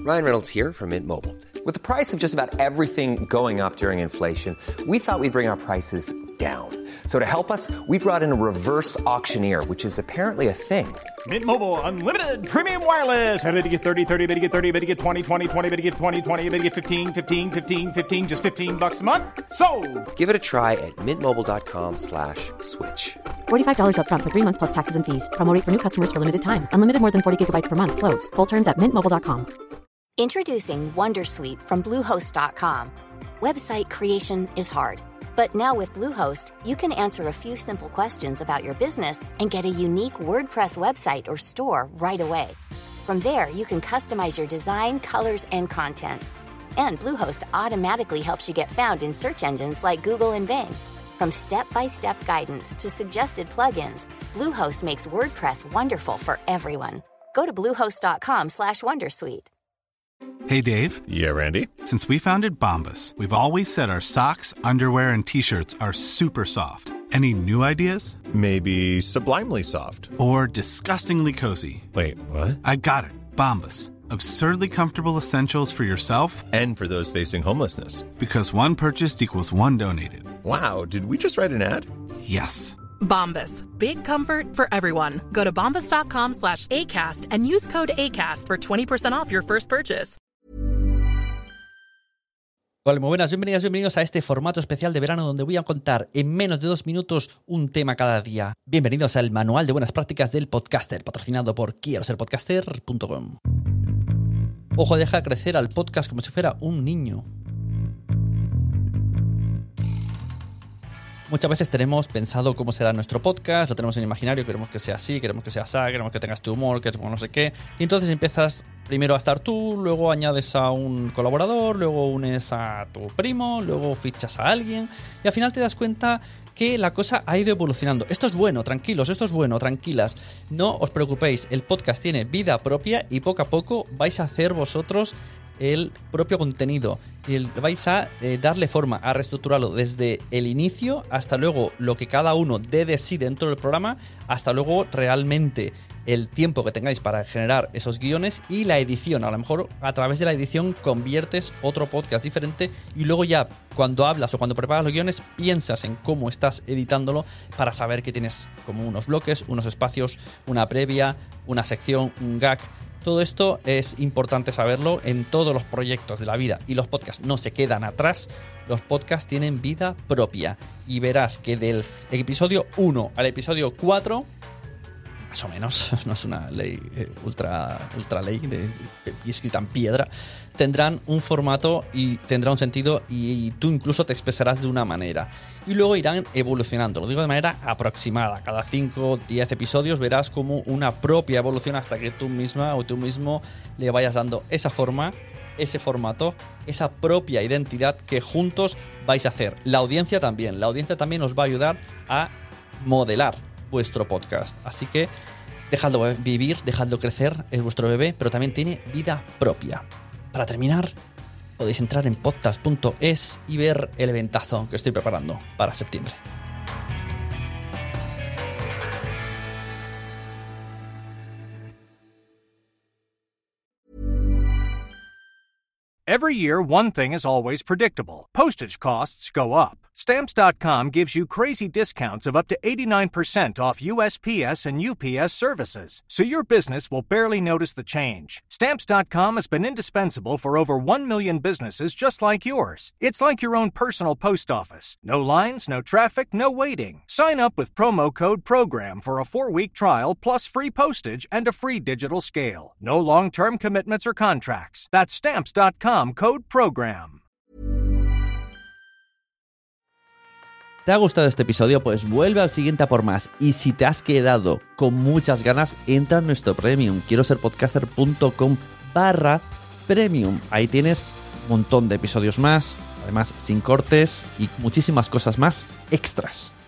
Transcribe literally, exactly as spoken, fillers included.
Ryan Reynolds here from Mint Mobile. With the price of just about everything going up during inflation, we thought we'd bring our prices down. So to help us, we brought in a reverse auctioneer, which is apparently a thing. Mint Mobile Unlimited Premium Wireless. How to get thirty, thirty, how to get thirty, how to get twenty, twenty, twenty, how to get twenty, twenty, how to get fifteen, fifteen, fifteen, fifteen, just fifteen bucks a month? Sold! Give it a try at mintmobile.com slash switch. forty-five dollars up front for three months plus taxes and fees. Promo rate for new customers for limited time. Unlimited more than forty gigabytes per month. Slows full terms at mint mobile dot com. Introducing Wondersuite from Bluehost dot com. Website creation is hard, but now with Bluehost, you can answer a few simple questions about your business and get a unique WordPress website or store right away. From there, you can customize your design, colors, and content. And Bluehost automatically helps you get found in search engines like Google and Bing. From step-by-step guidance to suggested plugins, Bluehost makes WordPress wonderful for everyone. Go to bluehost dot com slash wondersuite. Hey, Dave. Yeah, Randy. Since we founded Bombas, we've always said our socks, underwear, and T-shirts are super soft. Any new ideas? Maybe sublimely soft. Or disgustingly cozy. Wait, what? I got it. Bombas. Absurdly comfortable essentials for yourself and for those facing homelessness. Because one purchased equals one donated. Wow, did we just write an ad? Yes. Bombas. Big comfort for everyone. Go to bombas dot com slash ACAST and use code ACAST for twenty percent off your first purchase. Hola, muy buenas, bienvenidas, bienvenidos a este formato especial de verano donde voy a contar en menos de dos minutos un tema cada día. Bienvenidos al Manual de Buenas Prácticas del Podcaster, patrocinado por quiero ser podcaster punto com. Ojo, deja crecer al podcast como si fuera un niño. Muchas veces tenemos pensado cómo será nuestro podcast, lo tenemos en imaginario, queremos que sea así, queremos que sea así, queremos que tengas tu humor, queremos no sé qué. Y entonces empiezas primero a estar tú, luego añades a un colaborador, luego unes a tu primo, luego fichas a alguien y al final te das cuenta que la cosa ha ido evolucionando. Esto es bueno, tranquilos, esto es bueno, tranquilas. No os preocupéis, el podcast tiene vida propia y poco a poco vais a hacer vosotros el propio contenido y el, vais a eh, darle forma, a reestructurarlo desde el inicio hasta luego lo que cada uno dé de sí dentro del programa, hasta luego realmente el tiempo que tengáis para generar esos guiones y la edición. A lo mejor a través de la edición conviertes otro podcast diferente y luego ya cuando hablas o cuando preparas los guiones piensas en cómo estás editándolo para saber que tienes como unos bloques, unos espacios, una previa, una sección, un gag. Todo esto es importante saberlo en todos los proyectos de la vida y los podcasts no se quedan atrás, los podcasts tienen vida propia y verás que del episodio uno al episodio cuatro, más o menos, no es una ley eh, ultra, ultra ley de, de, de, escrita en piedra, tendrán un formato y tendrá un sentido y, y tú incluso te expresarás de una manera. Y luego irán evolucionando, lo digo de manera aproximada. Cada cinco o diez episodios verás como una propia evolución hasta que tú misma o tú mismo le vayas dando esa forma, ese formato, esa propia identidad que juntos vais a hacer. La audiencia también, la audiencia también os va a ayudar a modelar vuestro podcast. Así que dejadlo vivir, dejadlo crecer, es vuestro bebé, pero también tiene vida propia. Para terminar, podéis entrar en podcast punto es y ver el eventazo que estoy preparando para septiembre. Every year, one thing is always predictable. Postage costs go up. Stamps dot com gives you crazy discounts of up to eighty-nine percent off U S P S and U P S services, so your business will barely notice the change. Stamps dot com has been indispensable for over one million businesses just like yours. It's like your own personal post office. No lines, no traffic, no waiting. Sign up with promo code PROGRAM for a four-week trial plus free postage and a free digital scale. No long-term commitments or contracts. That's Stamps dot com, code PROGRAM. ¿Te ha gustado este episodio? Pues vuelve al siguiente a por más. Y si te has quedado con muchas ganas, entra en nuestro Premium. quiero ser podcaster punto com barra Premium. Ahí tienes un montón de episodios más, además sin cortes y muchísimas cosas más extras.